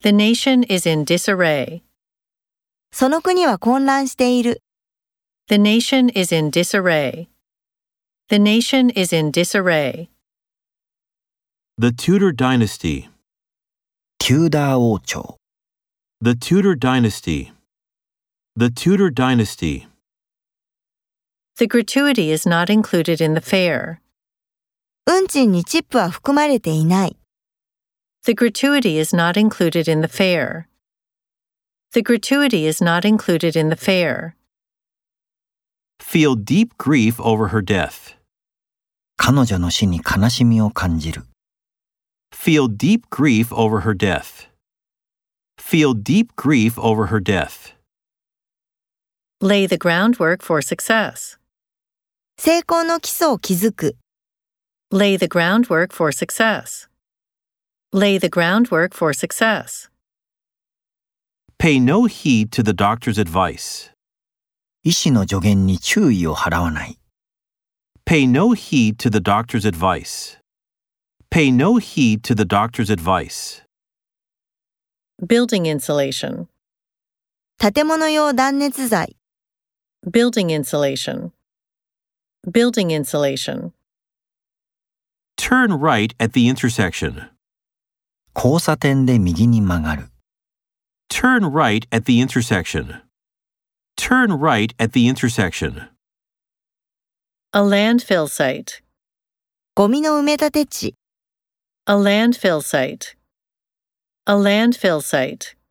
The nation is in disarray. その国は混乱している。 The nation is in disarray. The nation is in disarray. The Tudor dynasty. テューダー王朝。 The Tudor dynasty. The Tudor dynasty. The gratuity is not included in the fare. 運賃にチップは含まれていない。 The gratuity is not included in the fare. The gratuity is not included in the fare. Feel deep grief over her death. 彼女の死に悲しみを感じる。 Feel deep grief over her death. Feel deep grief over her death. Lay the groundwork for success. 成功の基礎を築く。 Lay the groundwork for success. Lay the groundwork for success. Pay no heed to the doctor's advice. 医師の助言に注意を払わない。 Pay no heed to the doctor's advice. Pay no heed to the doctor's advice. Building insulation. 建物用断熱材。 Building insulation. Building insulation. Turn right at the intersection. 交差点で右に曲がる。 Turn right at the intersection. Turn right at the intersection. A landfill site. ゴミの埋め立て地。 A landfill site. A landfill site.